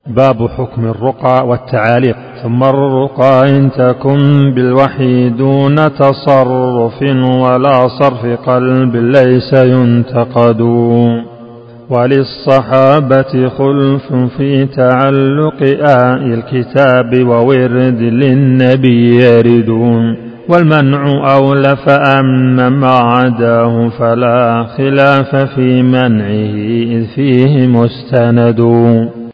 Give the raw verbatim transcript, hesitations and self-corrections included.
باب حكم الرقى والتعاليق. ثم الرقى إن تكن بالوحي دون تصرف ولا صرف قلب ليس ينتقد. وللصحابة خلف في تعلق آي الكتاب وورد للنبي يردون. والمنع أولى فأما ما عداه فلا خلاف في منعه إذ فيه مستند.